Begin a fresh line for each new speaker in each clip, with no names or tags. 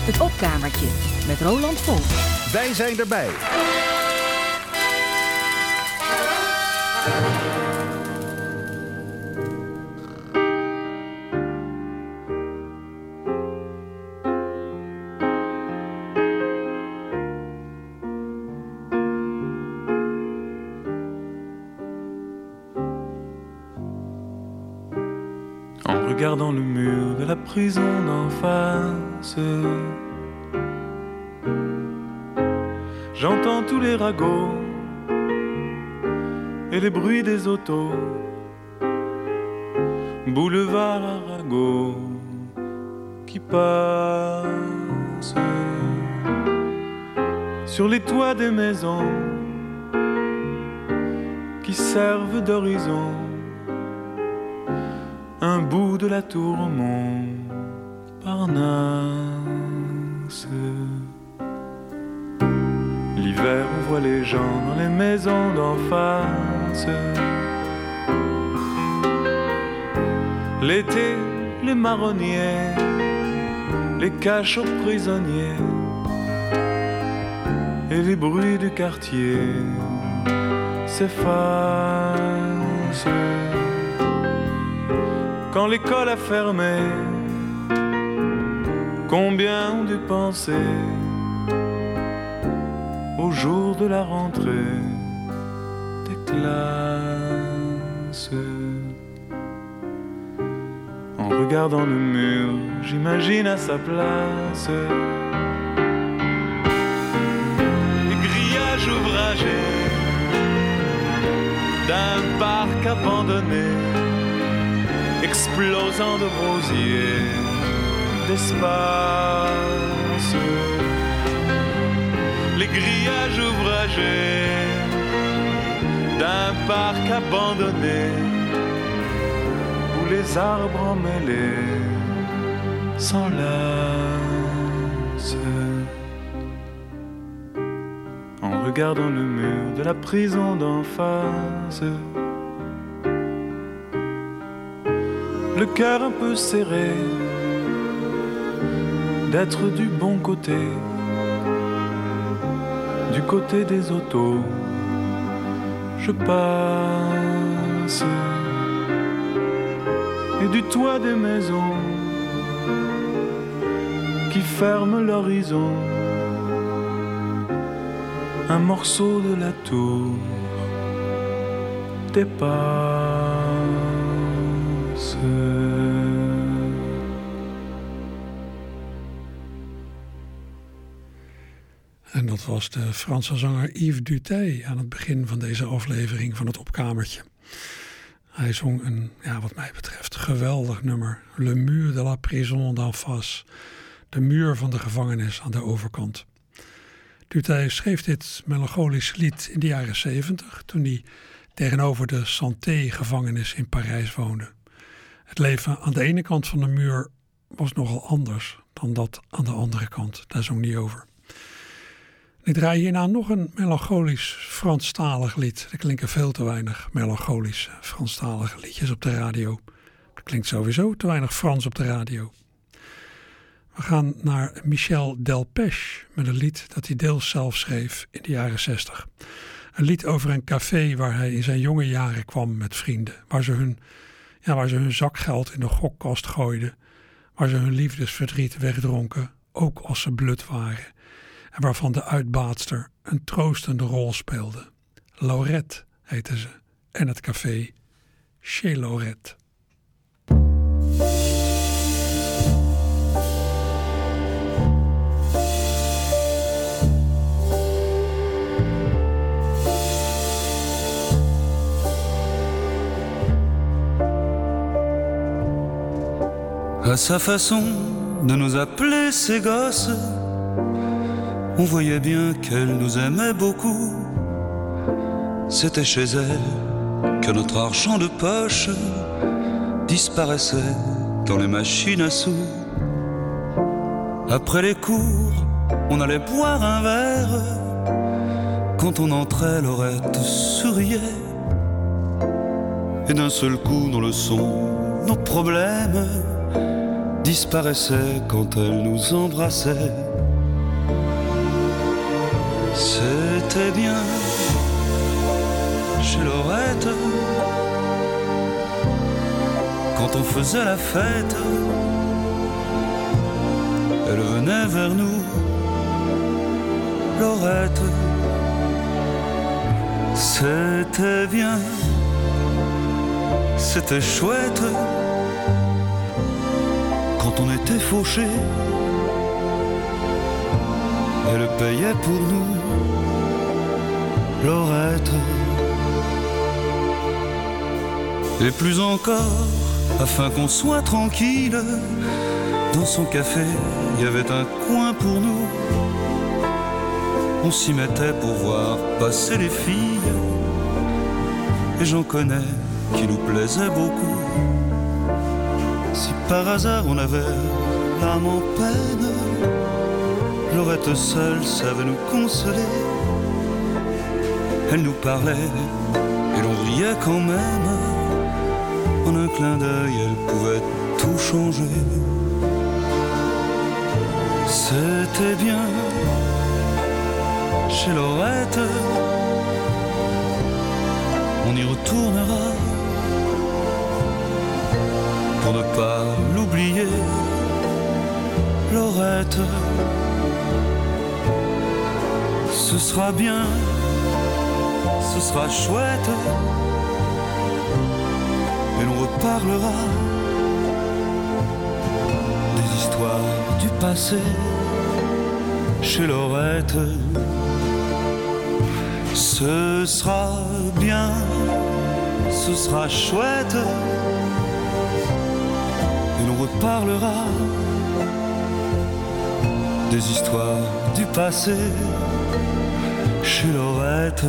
Het opkamertje met Roland Volk.
Wij zijn erbij.
En regardant le mur de la prison d'en face, j'entends tous les ragots et les bruits des autos. Boulevard Arago qui passe sur les toits des maisons qui servent d'horizon. Un bout de la tour Montparnasse. L'hiver ouvre les gens dans les maisons d'en face. L'été, les marronniers les cachent aux prisonniers. Et les bruits du quartier s'effacent. Quand l'école a fermé, combien ont dû penser au jour de la rentrée des classes. En regardant le mur, j'imagine à sa place les grillages ouvragés d'un parc abandonné, explosant de rosiers, d'espace. Les grillages ouvragés d'un parc abandonné où les arbres emmêlés s'enlacent. En regardant le mur de la prison d'en face, le cœur un peu serré d'être du bon côté, du côté des autos. Je passe et du toit des maisons qui ferment l'horizon. Un morceau de la tour dépasse.
En dat was de Franse zanger Yves Duteil aan het begin van deze aflevering van het Opkamertje. Hij zong een, wat mij betreft, geweldig nummer. Le mur de la prison d'en face. De muur van de gevangenis aan de overkant. Duteil schreef dit melancholische lied in de jaren 70, toen hij tegenover de Santé-gevangenis in Parijs woonde. Het leven aan de ene kant van de muur was nogal anders dan dat aan de andere kant. Daar zong hij over. Ik draai hierna nog een melancholisch Franstalig lied. Er klinken veel te weinig melancholische Franstalige liedjes op de radio. Er klinkt sowieso te weinig Frans op de radio. We gaan naar Michel Delpech met een lied dat hij deels zelf schreef in de jaren 60. Een lied over een café waar hij in zijn jonge jaren kwam met vrienden. Waar ze hun zakgeld in de gokkast gooiden. Waar ze hun liefdesverdriet wegdronken, ook als ze blut waren. En waarvan de uitbaatster een troostende rol speelde. Laurette heette ze. En het café Chez Laurette.
À sa façon de nous appeler ses gosses, on voyait bien qu'elle nous aimait beaucoup. C'était chez elle que notre argent de poche disparaissait dans les machines à sous. Après les cours, on allait boire un verre. Quand on entrait, Laurette souriait. Et d'un seul coup, dans le son, nos problèmes disparaissait quand elle nous embrassait. C'était bien chez Laurette quand on faisait la fête. Elle venait vers nous, Laurette. C'était bien, c'était chouette quand on était fauchés. Elle payait pour nous, Laurette. Et plus encore, afin qu'on soit tranquille, dans son café, il y avait un coin pour nous. On s'y mettait pour voir passer les filles. Et j'en connais qui nous plaisaient beaucoup. Si par hasard on avait l'âme en peine, Laurette seule savait nous consoler. Elle nous parlait et l'on riait quand même. En un clin d'œil, elle pouvait tout changer. C'était bien chez Laurette. On y retournera pour ne pas l'oublier, Laurette. Ce sera bien, ce sera chouette, et l'on reparlera des histoires du passé chez Laurette. Ce sera bien, ce sera chouette, et l'on reparlera des histoires du passé chez Laurette.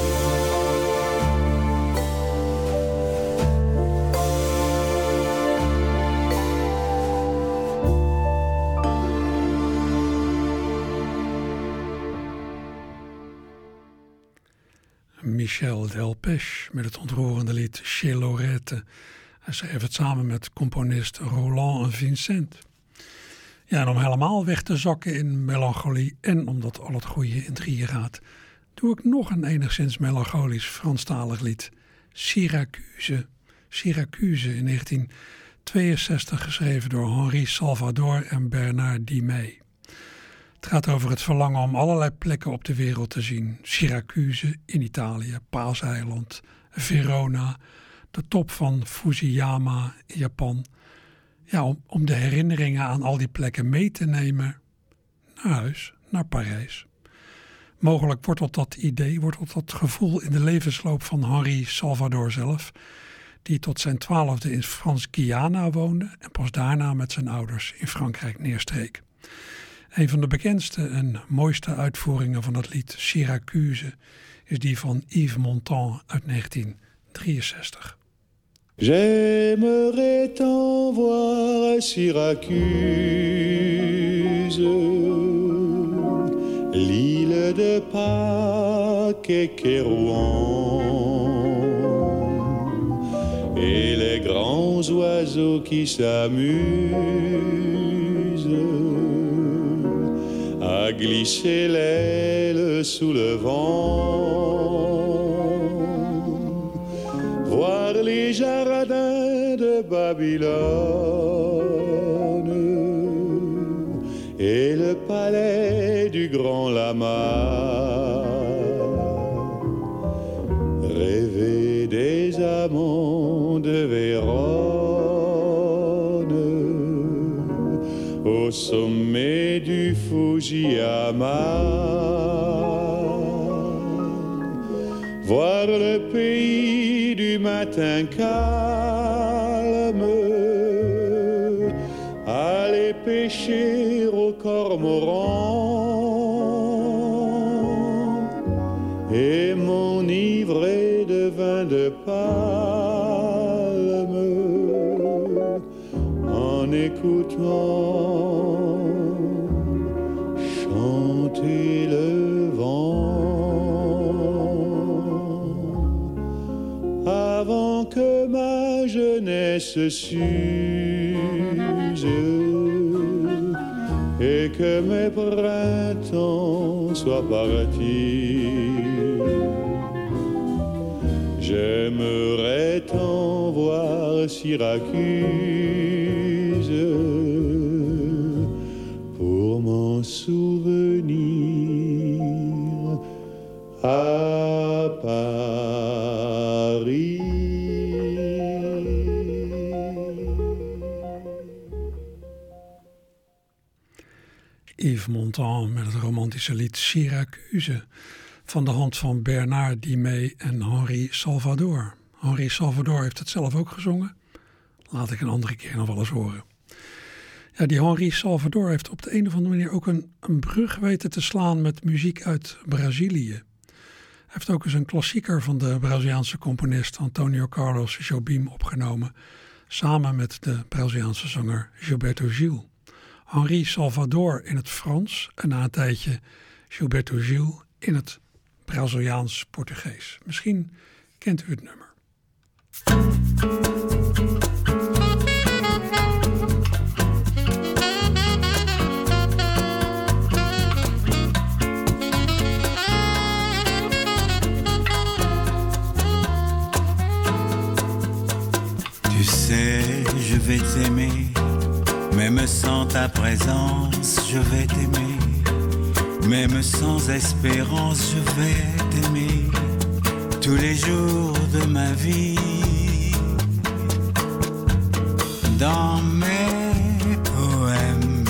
Michel Delpech met het ontroerende lied Chez Laurette. Hij schreef het samen met componist Roland Vincent. Ja, en om helemaal weg te zakken in melancholie en omdat al het goede in drieën gaat, doe ik nog een enigszins melancholisch Franstalig lied. Syracuse. Syracuse in 1962 geschreven door Henri Salvador en Bernard Dimet. Het gaat over het verlangen om allerlei plekken op de wereld te zien. Syracuse in Italië, Paaseiland, Verona, de top van Fujiyama in Japan. Ja, om de herinneringen aan al die plekken mee te nemen naar huis, naar Parijs. Mogelijk wortelt dat idee, wortelt dat gevoel in de levensloop van Henri Salvador zelf, die tot zijn 12e in Frans-Guyana woonde en pas daarna met zijn ouders in Frankrijk neerstreek. Een van de bekendste en mooiste uitvoeringen van het lied Syracuse is die van Yves Montand uit 1963.
J'aimerais t'en voir à Syracuse, l'île de Pâques et Kérouan, et les grands oiseaux qui s'amusent à glisser l'aile sous le vent, voir les jardins de Babylone et le palais du grand lama, rêver des amants de Vérone au sommet du Fujiyama, voir le pays du matin calme, aller pêcher au cormoran et m'enivrer de vin de palme en écoutant chanter le vent, avant que ma jeunesse s'use et que mes printemps soient partis. J'aimerais tant voir Syracuse pour m'en souvenir à Paris.
Yves Montand met het romantische lied Syracuse van de hand van Bernard Dimet en Henri Salvador. Henri Salvador heeft het zelf ook gezongen. Laat ik een andere keer nog wel eens horen. Ja, die Henri Salvador heeft op de een of andere manier ook een brug weten te slaan met muziek uit Brazilië. Hij heeft ook eens een klassieker van de Braziliaanse componist Antonio Carlos Jobim opgenomen, samen met de Braziliaanse zanger Gilberto Gil. Henri Salvador in het Frans en na een tijdje Gilberto Gil in het Braziliaans-Portugees. Misschien kent u het nummer.
Tu sais, je vais t'aimer, même sans ta présence, je vais t'aimer. Même sans espérance, je vais t'aimer tous les jours de ma vie. Dans mes poèmes,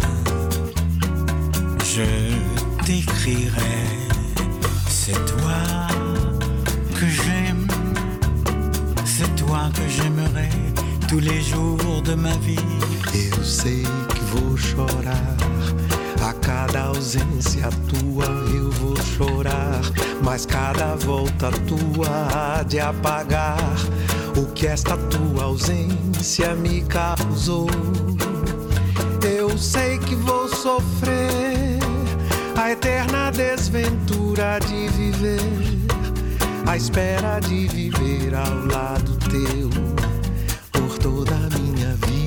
je t'écrirai, c'est toi que j'aime, c'est toi que j'aimerai tous les jours de ma vie.
Eu sei que vou chorar, a cada ausência tua eu vou chorar, mas cada volta tua há de apagar o que esta tua ausência me causou. Eu sei que vou sofrer a eterna desventura de viver, a espera de viver ao lado teu por toda a minha vida.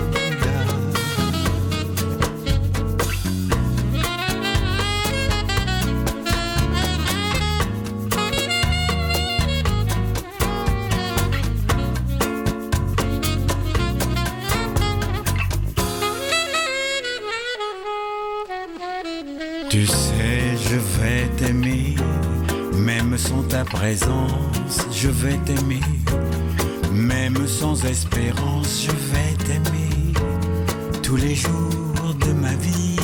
Tu sais, je vais t'aimer, même sans ta présence, je vais t'aimer. Même sans espérance, je vais t'aimer tous les jours de ma vie.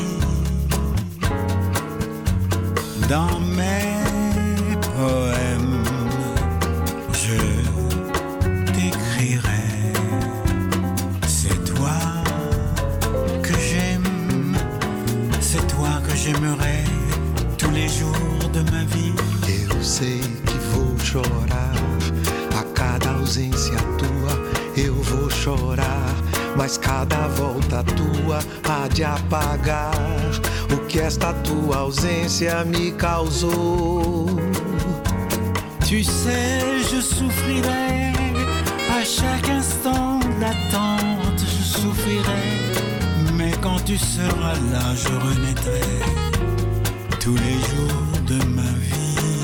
Dans mes poèmes, je t'écrirai, c'est toi que j'aime, c'est toi que j'aimerai tous les jours de ma vie.
Eu sei que vou chorar, a cada ausência tua eu vou chorar, mas cada volta tua há de apagar o que esta tua ausência me causou.
Tu sais, je souffrirai à chaque instant d'attente, je souffrirai, mais quand tu seras là, je renaîtrai tous les jours de ma vie.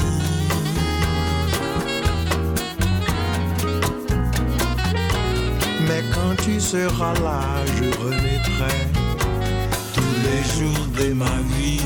Mais quand tu seras là, je renaîtrai
tous les jours de ma vie.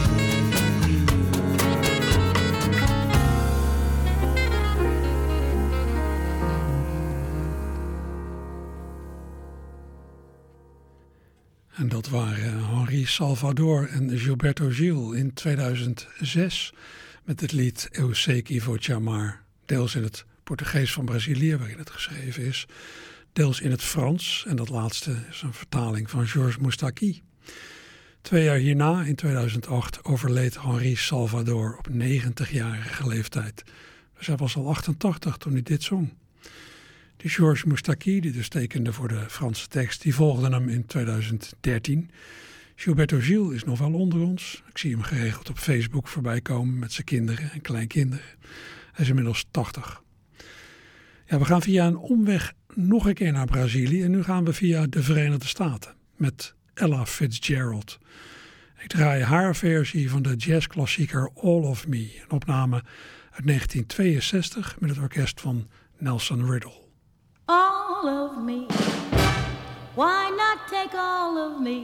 En dat waren Henri Salvador en Gilberto Gil in 2006 met het lied Eu sei que vou te amar, deels in het Portugees van Brazilië waarin het geschreven is, deels in het Frans en dat laatste is een vertaling van Georges Moustaki. 2 jaar hierna, in 2008, overleed Henri Salvador op 90-jarige leeftijd. Dus hij was al 88 toen hij dit zong. Die Georges Moustaki, die dus tekende voor de Franse tekst, die volgde hem in 2013. Gilberto Gil is nog wel onder ons. Ik zie hem geregeld op Facebook voorbij komen met zijn kinderen en kleinkinderen. Hij is inmiddels 80. Ja, we gaan via een omweg nog een keer naar Brazilië. En nu gaan we via de Verenigde Staten met Ella Fitzgerald. Ik draai haar versie van de jazzklassieker All of Me. Een opname uit 1962 met het orkest van Nelson Riddle.
All of me, why not take all of me?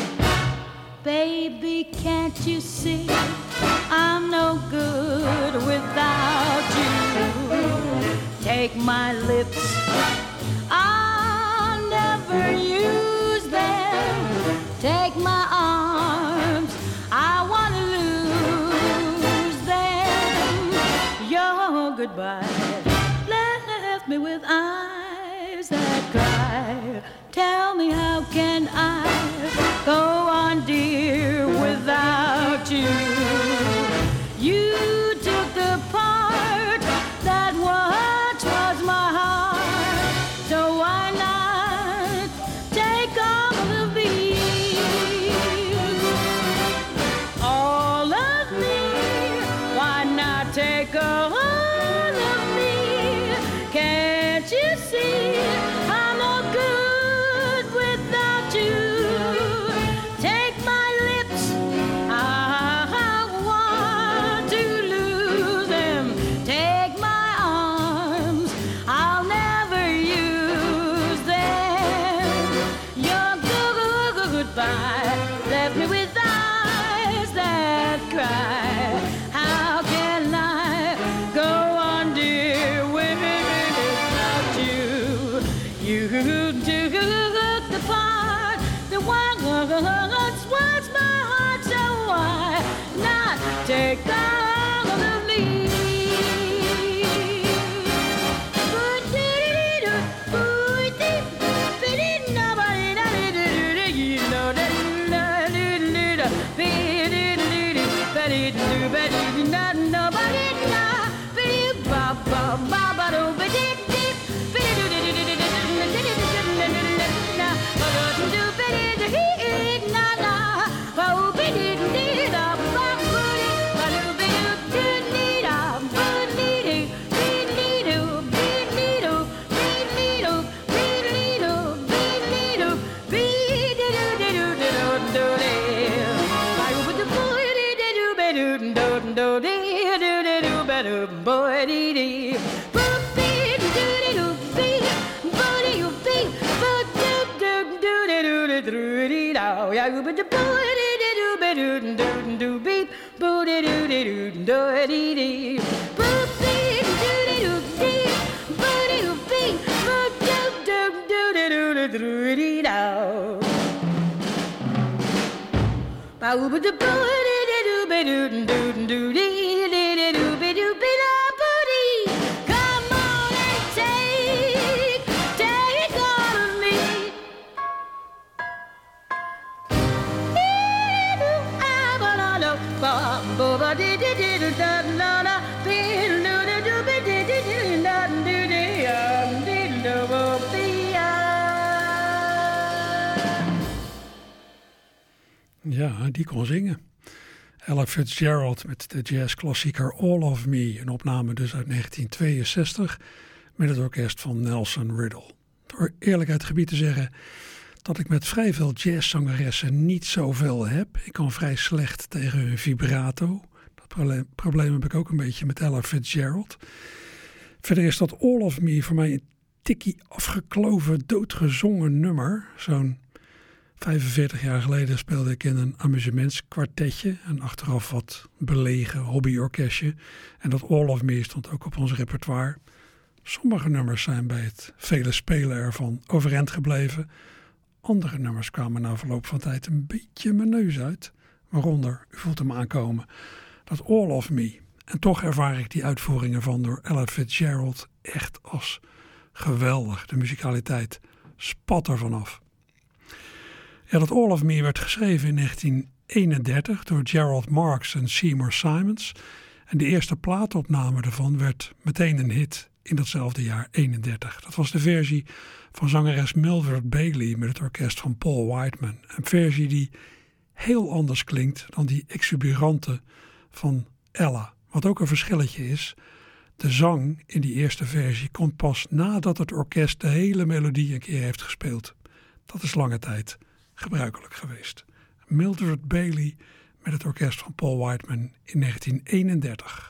Baby, can't you see I'm no good without you? Take my lips, I'll never use them. Take my arms, I want to lose them. Your goodbye left me with eyes that cry. Tell me, how can I go on, dear, without you? You took the part that once was my heart, so why not take all of me? All of me, why not take all of me? Can't you see I'm no good without you? Take my lips, I want to lose them. Take my arms, I'll never use them. Your goodbye left me with eyes that cry. How can I go on, dear, without you? You took the part that once was my heart, so why not take all of me? Come on and take all of me.
Ja, die kon zingen. Ella Fitzgerald met de jazzklassieker All of Me. Een opname dus uit 1962 met het orkest van Nelson Riddle. Door eerlijkheid gebied te zeggen dat ik met vrij veel jazzzangeressen niet zoveel heb. Ik kan vrij slecht tegen hun vibrato. Dat probleem heb ik ook een beetje met Ella Fitzgerald. Verder is dat All of Me voor mij een tikkie afgekloven, doodgezongen nummer. Zo'n 45 jaar geleden speelde ik in een amusementskwartetje. En achteraf wat belegen hobbyorkestje. En dat All of Me stond ook op ons repertoire. Sommige nummers zijn bij het vele spelen ervan overeind gebleven. Andere nummers kwamen na verloop van tijd een beetje mijn neus uit. Waaronder, u voelt hem aankomen, dat All of Me. En toch ervaar ik die uitvoeringen van door Ella Fitzgerald echt als geweldig. De muzikaliteit spat er vanaf. Ja, dat All of Me werd geschreven in 1931 door Gerald Marks en Seymour Simons. En de eerste plaatopname ervan werd meteen een hit in datzelfde jaar 31. Dat was de versie van zangeres Mildred Bailey met het orkest van Paul Whiteman. Een versie die heel anders klinkt dan die exuberante van Ella. Wat ook een verschilletje is, De zang in die eerste versie komt pas nadat het orkest de hele melodie een keer heeft gespeeld. Dat is lange tijd gebruikelijk geweest. Mildred Bailey met het orkest van Paul Whiteman in 1931.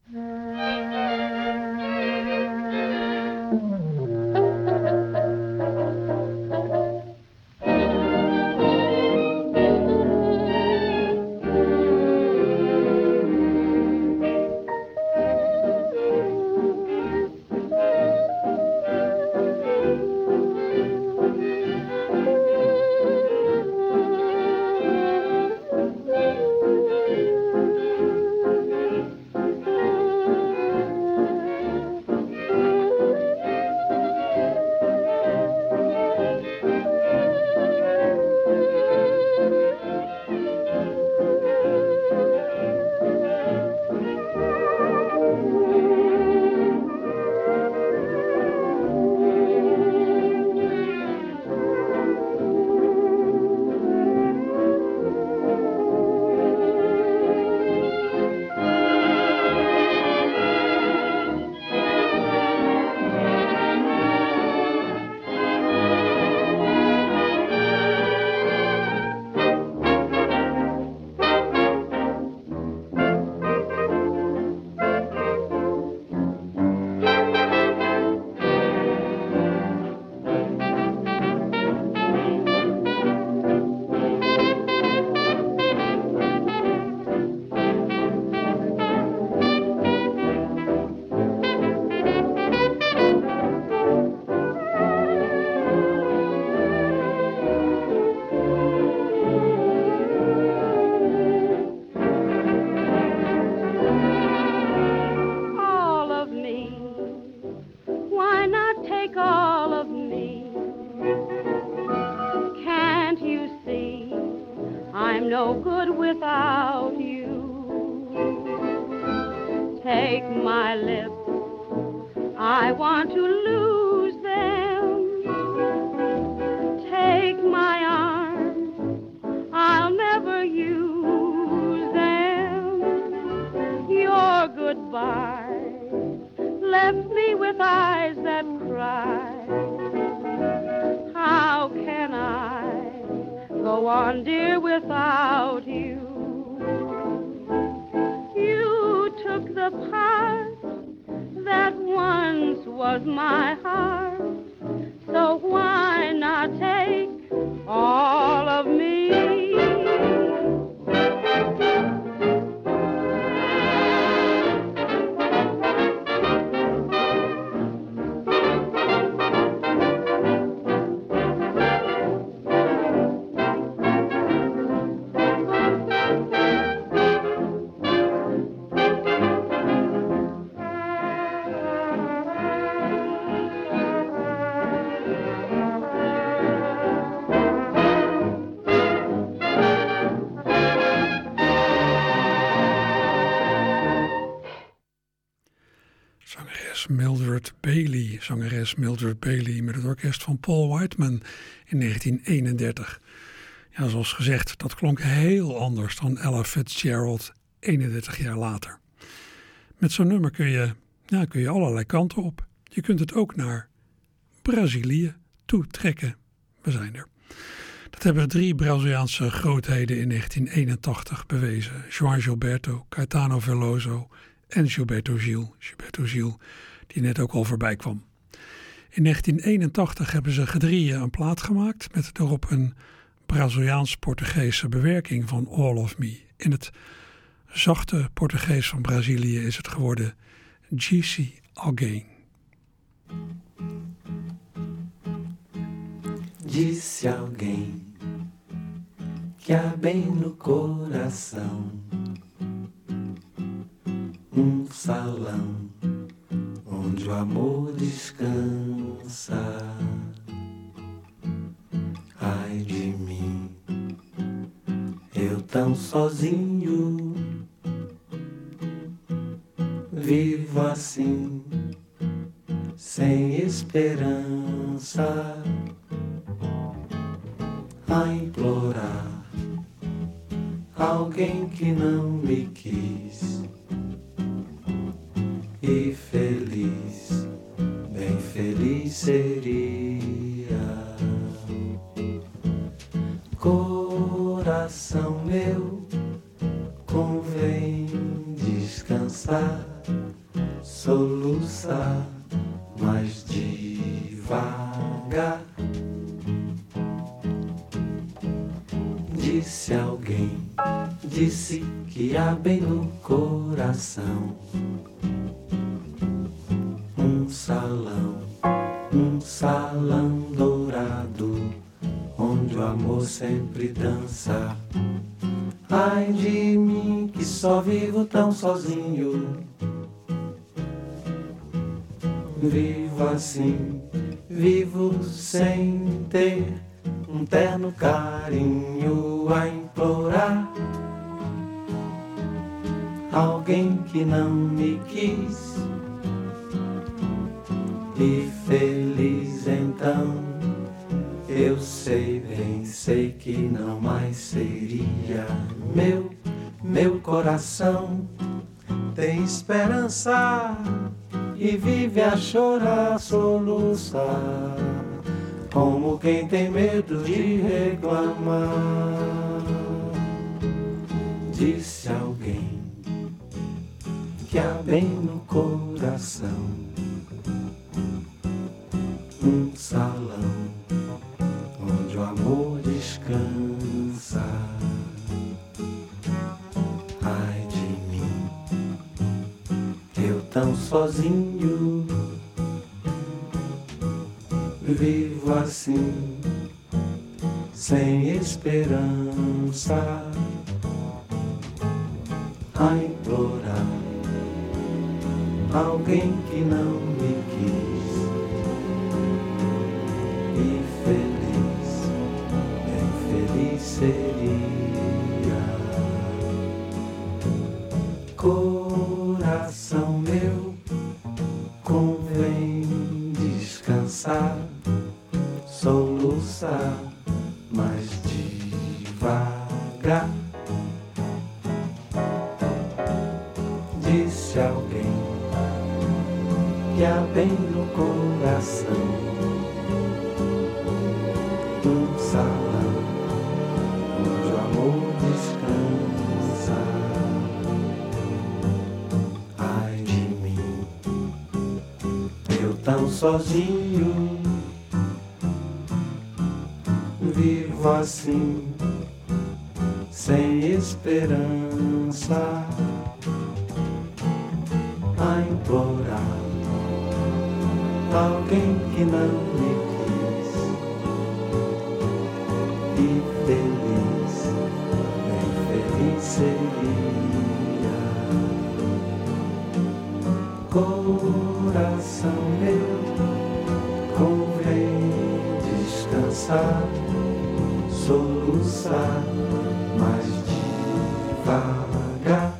Zangeres Mildred Bailey met het orkest van Paul Whiteman in 1931. Ja, zoals gezegd, dat klonk heel anders dan Ella Fitzgerald 31 jaar later. Met zo'n nummer kun je allerlei kanten op. Je kunt het ook naar Brazilië toetrekken. We zijn er. Dat hebben 3 Braziliaanse grootheden in 1981 bewezen. João Gilberto, Caetano Veloso en Gilberto Gil, die net ook al voorbij kwam. In 1981 hebben ze gedrieën een plaat gemaakt met daarop een Braziliaans-Portugese bewerking van All of Me. In het zachte Portugees van Brazilië is het geworden Disse Alguém.
Disse alguém que há bem no coração salão onde o amor descansa. Ai de mim, eu tão sozinho, vivo assim, sem esperança, a implorar alguém que não me quis e feliz, bem feliz seria. Coração meu, convém descansar, soluçar mais devagar. Disse alguém, disse que há bem no coração um salão dourado, onde o amor sempre dança. Ai de mim que só vivo tão sozinho, vivo assim, vivo sem ter um terno carinho a implorar. Alguém que não me quis, e feliz então, eu sei, bem sei que não mais seria. Meu coração tem esperança e vive a chorar, a soluçar, como quem tem medo de reclamar. Disse alguém que há bem no coração um salão onde o amor descansa. Ai de mim, eu tão sozinho, vivo assim, sem esperança, a implorar alguém que não me quis, e feliz, bem feliz seria. Coração meu, convém descansar, soluçar mais devagar. Disse alguém que há bem no coração um salão onde o amor descansa. Ai de mim, eu tão sozinho, vivo assim, sem esperança, a implorar alguém que não me quis, e feliz, bem feliz seria. Coração meu, convém descansar, soluçar mais devagar.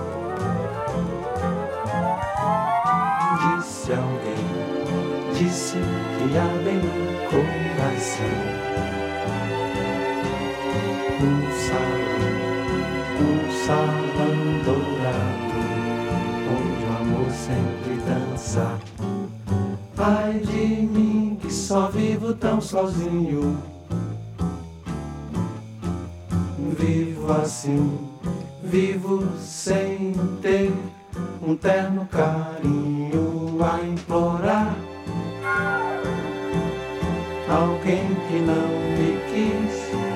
Disse alguém, disse que há bem no coração um salão dourado, onde o amor sempre dança. Ai de mim que só vivo tão sozinho, vivo assim, vivo sem ter um terno carinho a implorar. Alguém que não me quis,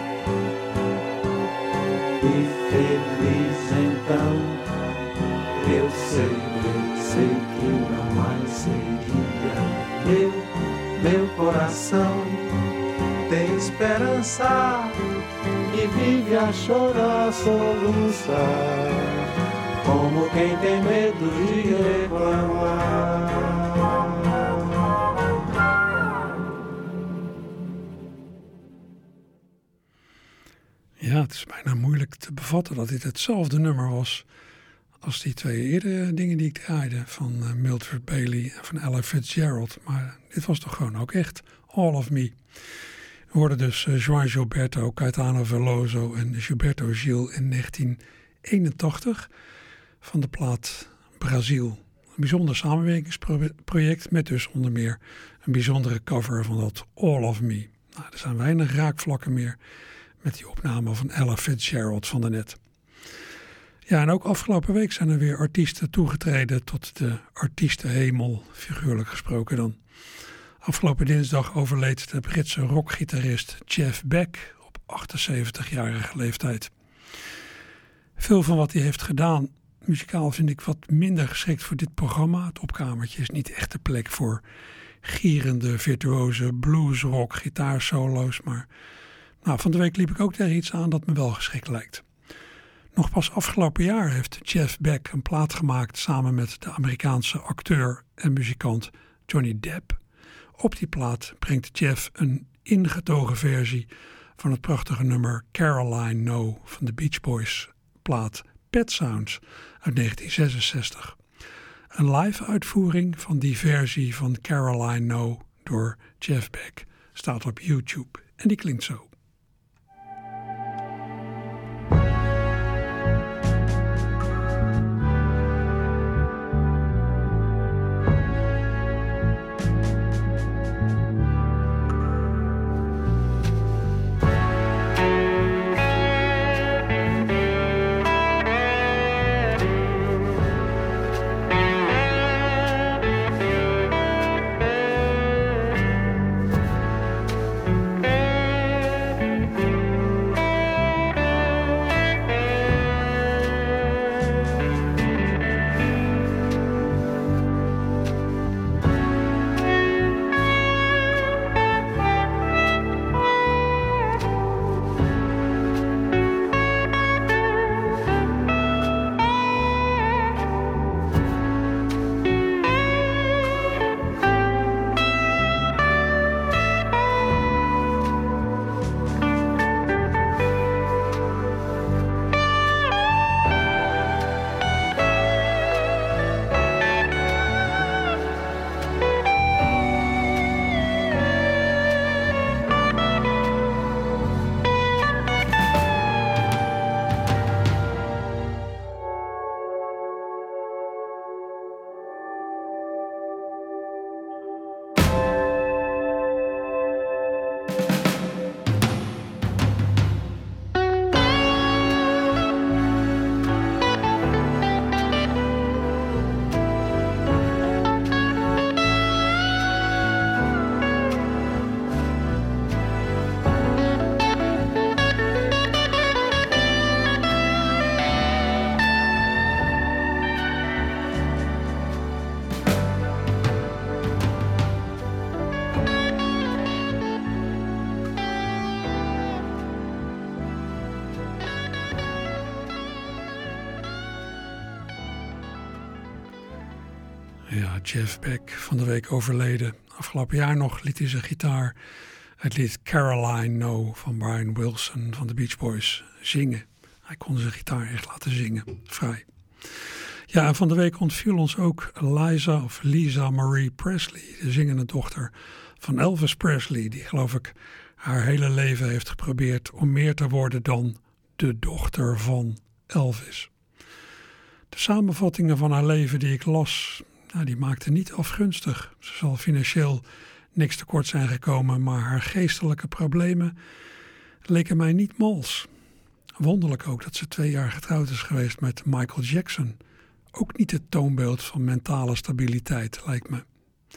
e feliz então, eu sei que não mais seria. Meu coração tem esperança e vive a chorar, a soluçar, como quem tem medo de reclamar.
Ja, het is bijna moeilijk te bevatten dat dit hetzelfde nummer was als die twee eerdere dingen die ik draaide van Mildred Bailey en van Ella Fitzgerald. Maar dit was toch gewoon ook echt All of Me. We hoorden dus João Gilberto, Caetano Veloso en Gilberto Gil in 1981 van de plaat Brazil. Een bijzonder samenwerkingsproject met dus onder meer een bijzondere cover van dat All of Me. Nou, er zijn weinig raakvlakken meer met die opname van Ella Fitzgerald van daarnet. Ja, en ook afgelopen week zijn er weer artiesten toegetreden tot de artiestenhemel, figuurlijk gesproken dan. Afgelopen dinsdag overleed de Britse rockgitarist Jeff Beck op 78-jarige leeftijd. Veel van wat hij heeft gedaan, muzikaal, vind ik wat minder geschikt voor dit programma. Het opkamertje is niet echt de plek voor gierende, virtuoze bluesrock gitaarsolo's. Maar van de week liep ik ook tegen iets aan dat me wel geschikt lijkt. Nog pas afgelopen jaar heeft Jeff Beck een plaat gemaakt samen met de Amerikaanse acteur en muzikant Johnny Depp. Op die plaat brengt Jeff een ingetogen versie van het prachtige nummer Caroline No van de Beach Boys plaat Pet Sounds uit 1966. Een live uitvoering van die versie van Caroline No door Jeff Beck staat op YouTube en die klinkt zo. Ja, Jeff Beck, van de week overleden. Afgelopen jaar nog liet hij zijn gitaar het lied Caroline No van Brian Wilson van de Beach Boys zingen. Hij kon zijn gitaar echt laten zingen, vrij. Ja, en van de week ontviel ons ook Lisa Marie Presley, de zingende dochter van Elvis Presley, die geloof ik haar hele leven heeft geprobeerd om meer te worden dan de dochter van Elvis. De samenvattingen van haar leven die ik las, die maakten niet afgunstig. Ze zal financieel niks tekort zijn gekomen, maar haar geestelijke problemen leken mij niet mals. Wonderlijk ook dat ze 2 jaar getrouwd is geweest met Michael Jackson. Ook niet het toonbeeld van mentale stabiliteit, lijkt me.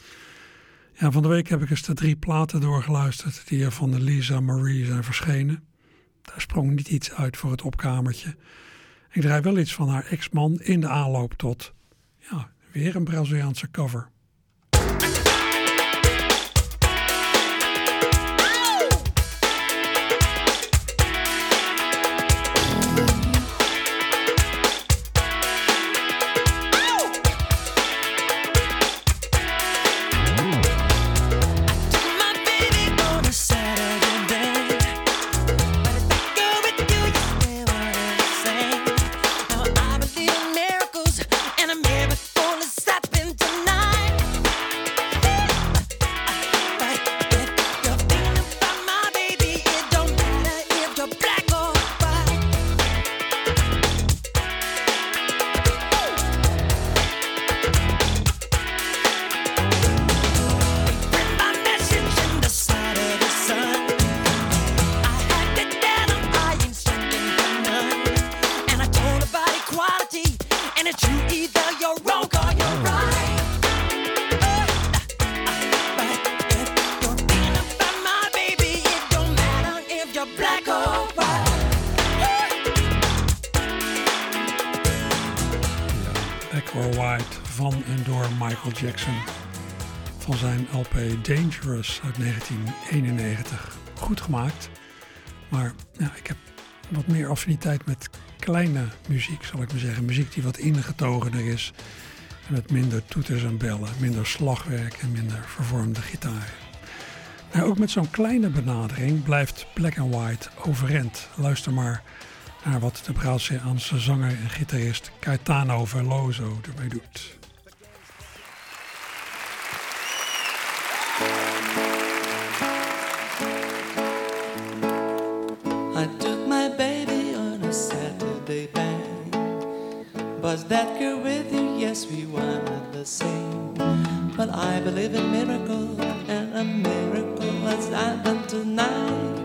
Ja, van de week heb ik eens de 3 platen doorgeluisterd die er van de Lisa Marie zijn verschenen. Daar sprong niet iets uit voor het opkamertje. Ik draai wel iets van haar ex-man in de aanloop tot, weer een Braziliaanse cover.
Miracles and a miracle is happening tonight.
or White van en door Michael Jackson. Van zijn LP Dangerous uit 1991. Goed gemaakt. Maar ja, ik heb wat meer affiniteit met kleine muziek, zal ik maar zeggen. Muziek die wat ingetogener is. En met minder toeters en bellen, minder slagwerk en minder vervormde gitaar. Maar ook met zo'n kleine benadering blijft Black and White overeind. Luister maar naar wat de Braziliaanse zanger en gitarist Caetano Veloso ermee doet.
I took my baby on a Saturday bang. Was that girl with you? Yes, we wanted the same. But I believe in miracles, and a miracle has happened tonight.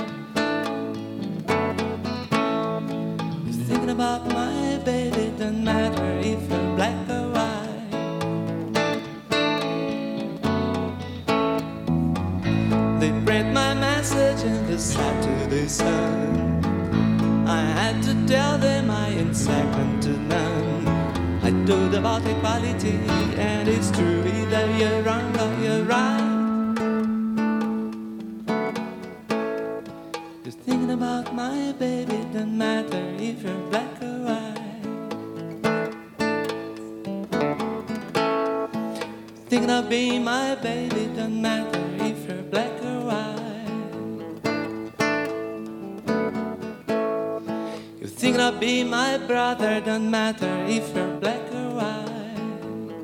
You're thinking about my baby, doesn't matter if you're black or white. They read my message in the Saturday Sun. I had to tell them I ain't second to none. I told about equality, and it's true either you're wrong or you're right. You're thinking about my baby, doesn't matter if you're black or white. Thinking of being my baby, doesn't matter if you're black or white. You're thinking of being my brother, doesn't matter if you're black or white.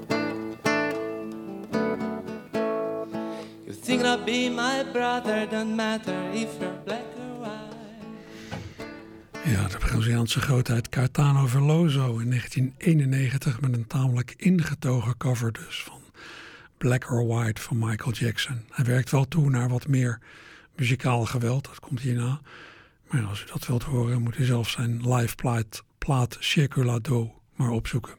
You're thinking of being my brother, doesn't matter if you're black or white.
Ja, de Braziliaanse grootheid Caetano Veloso in 1991 met een tamelijk ingetogen cover dus van Black or White van Michael Jackson. Hij werkt wel toe naar wat meer muzikaal geweld, dat komt hierna. Maar ja, als u dat wilt horen, moet u zelf zijn live plaat Circulado maar opzoeken.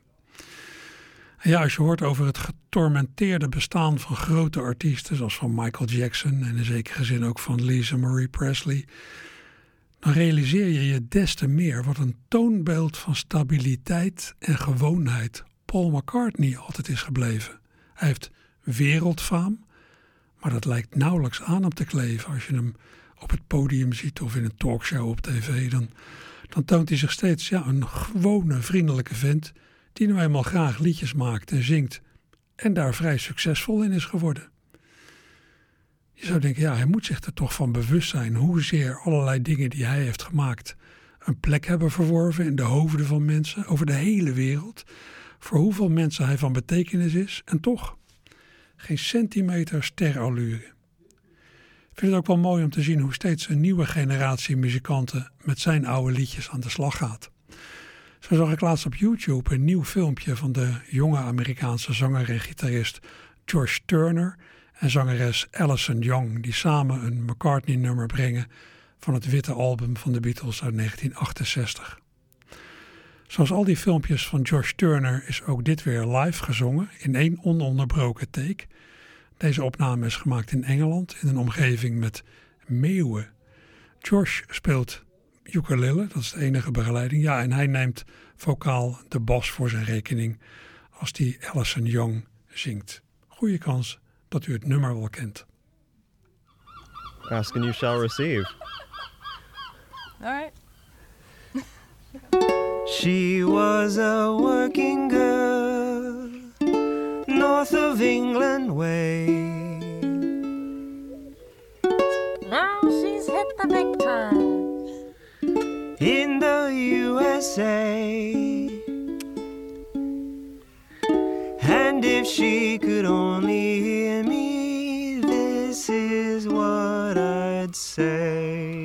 En ja, als je hoort over het getormenteerde bestaan van grote artiesten, zoals van Michael Jackson en in zekere zin ook van Lisa Marie Presley, dan realiseer je je des te meer wat een toonbeeld van stabiliteit en gewoonheid Paul McCartney altijd is gebleven. Hij heeft wereldfaam, maar dat lijkt nauwelijks aan hem te kleven. Als je hem op het podium ziet of in een talkshow op tv, dan toont hij zich steeds een gewone, vriendelijke vent die nou eenmaal graag liedjes maakt en zingt en daar vrij succesvol in is geworden. Je zou denken, hij moet zich er toch van bewust zijn hoezeer allerlei dingen die hij heeft gemaakt een plek hebben verworven in de hoofden van mensen over de hele wereld, voor hoeveel mensen hij van betekenis is en toch geen centimeter sterallure. Ik vind het ook wel mooi om te zien hoe steeds een nieuwe generatie muzikanten met zijn oude liedjes aan de slag gaat. Zo zag ik laatst op YouTube een nieuw filmpje van de jonge Amerikaanse zanger en gitarist Josh Turner en zangeres Alison Young, die samen een McCartney-nummer brengen van het witte album van de Beatles uit 1968. Zoals al die filmpjes van Josh Turner is ook dit weer live gezongen in 1 ononderbroken take. Deze opname is gemaakt in Engeland in een omgeving met meeuwen. Josh speelt ukulele, dat is de enige begeleiding. Ja, en hij neemt vocaal de bas voor zijn rekening als die Alison Young zingt. Goeie kans dat u het nummer wel kent.
Ask and you shall receive.
All right.
She was a working girl, north of England way.
Now she's hit the big time
in the USA. And if she could only hear me, this is what I'd say.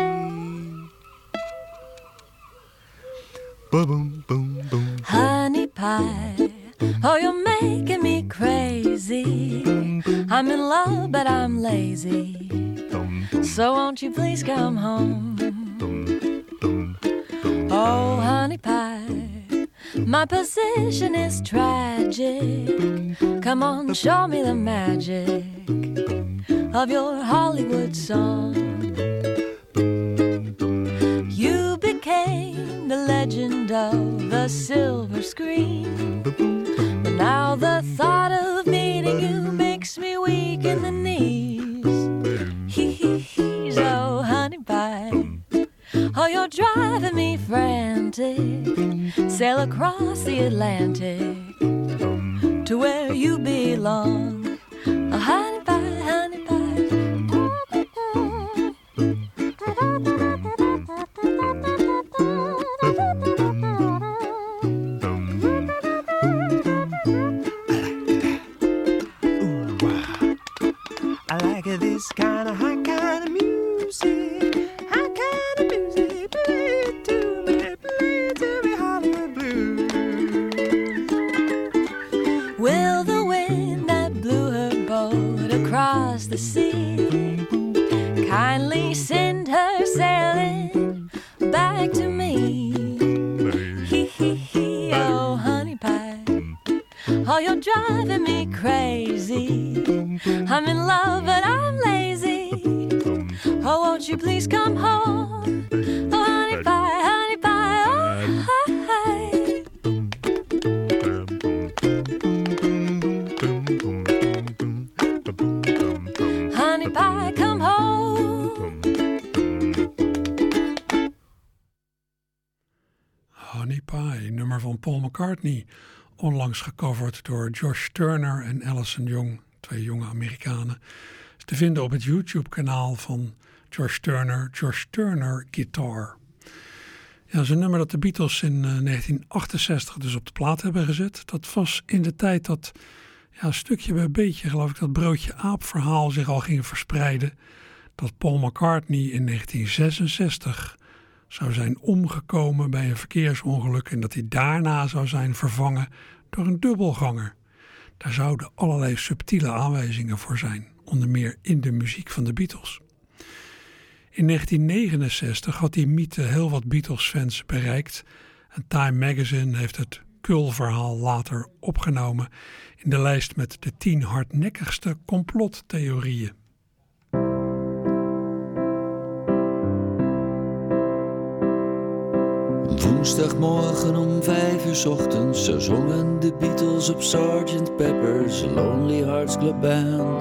Boom, boom, boom.
Honey pie, oh, you're making me crazy. I'm in love, but I'm lazy. So won't you please come home? Oh, honey pie, my position is tragic. Come on, show me the magic of your Hollywood song. You became the legend of the silver screen. But now the thought of meeting you makes me weak in the knees. Hee-hee-hees, oh honey pie, oh you're driving me frantic. Sail across the Atlantic to where you belong. Oh honey pie, honey pie.
This kind of high kind of music, high kind of music, play it to me, Hollywood Blues.
Will the wind that blew her boat across the sea kindly send her sailing back to me? Hee hee hee, oh honey pie, oh you're driving me crazy. I'm in love but I'm lazy. Oh won't you please come home? Oh honey pie, oh hi. Honey pie, come home.
Honey Pie, nummer van Paul McCartney, onlangs gecoverd door Josh Turner en Alison Young, twee jonge Amerikanen. Is te vinden op het YouTube-kanaal van Josh Turner Guitar. Ja, dat is een nummer dat de Beatles in 1968 dus op de plaat hebben gezet. Dat was in de tijd dat, ja, stukje bij beetje geloof ik, dat broodje aap verhaal zich al ging verspreiden. Dat Paul McCartney in 1966 zou zijn omgekomen bij een verkeersongeluk en dat hij daarna zou zijn vervangen door een dubbelganger. Daar zouden allerlei subtiele aanwijzingen voor zijn, onder meer in de muziek van de Beatles. In 1969 had die mythe heel wat Beatles-fans bereikt en Time Magazine heeft het Kul-verhaal later opgenomen in de lijst met de 10 hardnekkigste complottheorieën.
Woensdagmorgen om 5 uur 's ochtends, zo zongen de Beatles op Sgt. Pepper's Lonely Hearts Club Band.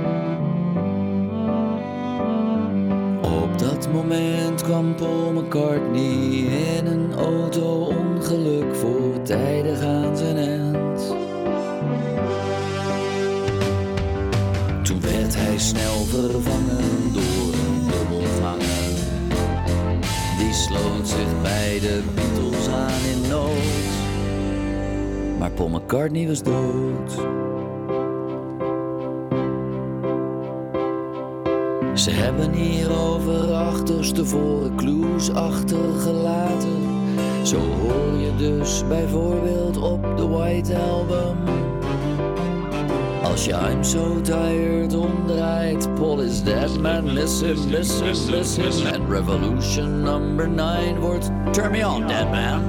Op dat moment kwam Paul McCartney in een auto-ongeluk voortijdig aan zijn end. Toen werd hij snel vervangen door een dubbelganger. Die sloot zich bij de Beatles aan in nood. Maar Paul McCartney was dood. Ze hebben hierover achterstevoren clues achtergelaten. Zo hoor je dus bijvoorbeeld op de White Album. Als je I'm so tired omdraait, Paul is dead man, listen, listen, listen. En Revolution number 9 wordt Turn me on, dead man.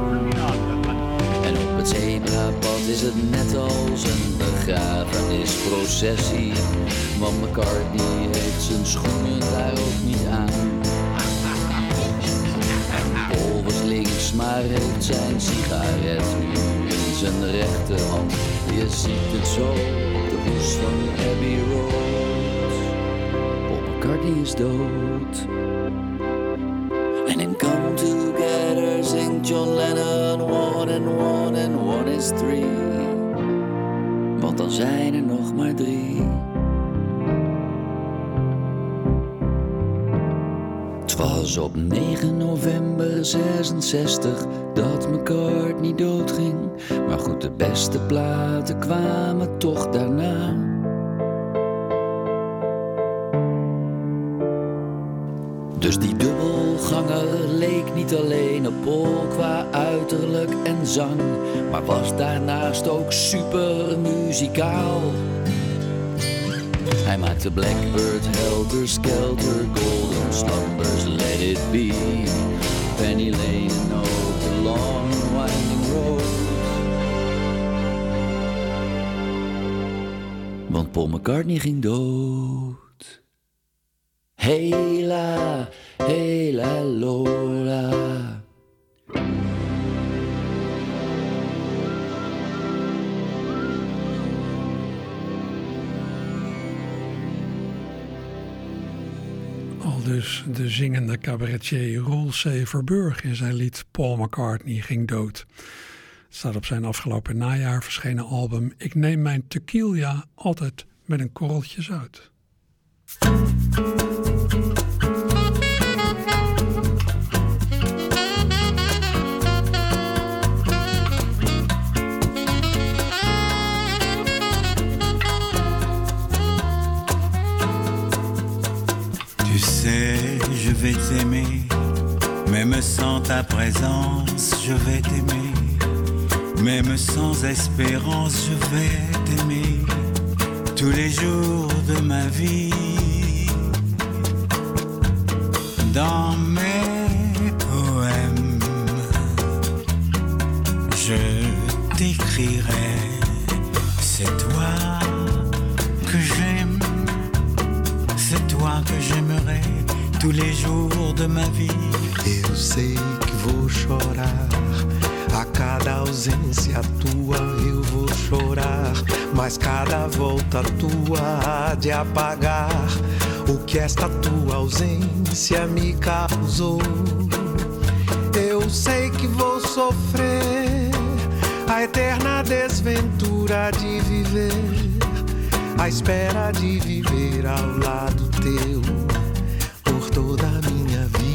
En op het zebrapad is het net als een begrafenisprocessie. Want McCartney heeft zijn schoenen daar ook niet aan. En Paul was links, maar heeft zijn sigaret nu in zijn rechterhand. Je ziet het zo op de hoes van Abbey Road. Paul McCartney is dood. En in Come Together zingt John Lennon 1 and 1 and 1 is 3. Want dan zijn er nog maar 3. Het was op 9 november 66 dat McCartney doodging. Maar goed, de beste platen kwamen toch daarna. Dus die dubbelganger leek niet alleen op Paul qua uiterlijk en zang, maar was daarnaast ook super muzikaal. Hij maakte Blackbird, Helter Skelter, Golden Slumbers, Let It Be, Penny Lane en ook The Long Winding Road. Want Paul McCartney ging dood. Hela, hela, Lola.
Aldus de zingende cabaretier Roel C. Verburg in zijn lied Paul McCartney ging dood. Het staat op zijn afgelopen najaar verschenen album Ik neem mijn tequila altijd met een korreltje zout.
Tu sais, je vais t'aimer, même sans ta présence, je vais t'aimer. Même sans espérance, je vais t'aimer tous les jours de ma vie. Dans mes poèmes, je t'écrirai, c'est toi que j'aime, c'est toi que j'aimerai tous les jours de ma vie.
Eu sei que vou chorar, a cada ausência tua eu vou chorar, mas cada volta tua há de apagar o que esta tua ausência me causou. Eu sei que vou sofrer a eterna desventura de viver, a espera de viver ao lado teu por toda a minha vida.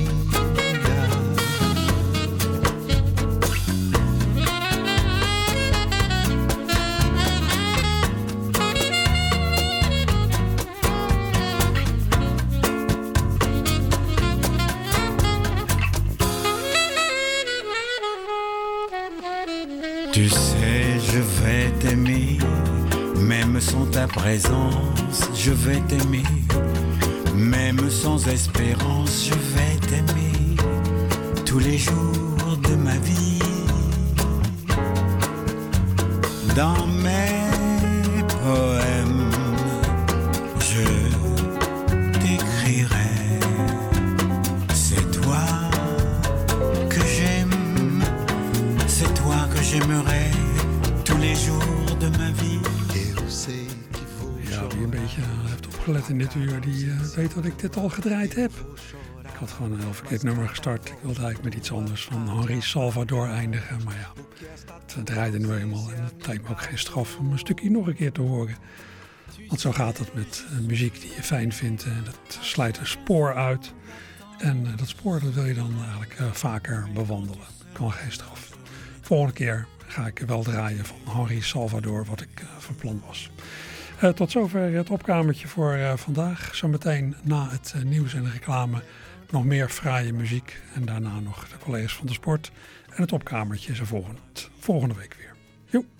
Tu sais, je vais t'aimer, même sans ta présence, je vais t'aimer. Même sans espérance, je vais t'aimer tous les jours de ma vie. Dans mes poèmes, je t'écrirai, c'est toi que j'aime, c'est toi que j'aimerai tous les jours de ma vie.
Ja, wie een beetje heeft opgelet in dit uur, die weet dat ik dit al gedraaid heb. Ik had gewoon een heel verkeerd nummer gestart. Ik wilde eigenlijk met iets anders van Henri Salvador eindigen. Maar ja, het draaide nu eenmaal. En het lijkt me ook geen straf om een stukje nog een keer te horen. Want zo gaat het met muziek die je fijn vindt. Dat slijt een spoor uit. En dat spoor dat wil je dan eigenlijk vaker bewandelen. Kan geen straf. Volgende keer ga ik wel draaien van Henri Salvador, wat ik van plan was. Tot zover het opkamertje voor vandaag. Zometeen na het nieuws en de reclame nog meer fraaie muziek. En daarna nog de collega's van de sport. En het opkamertje is er volgende week weer. Joep.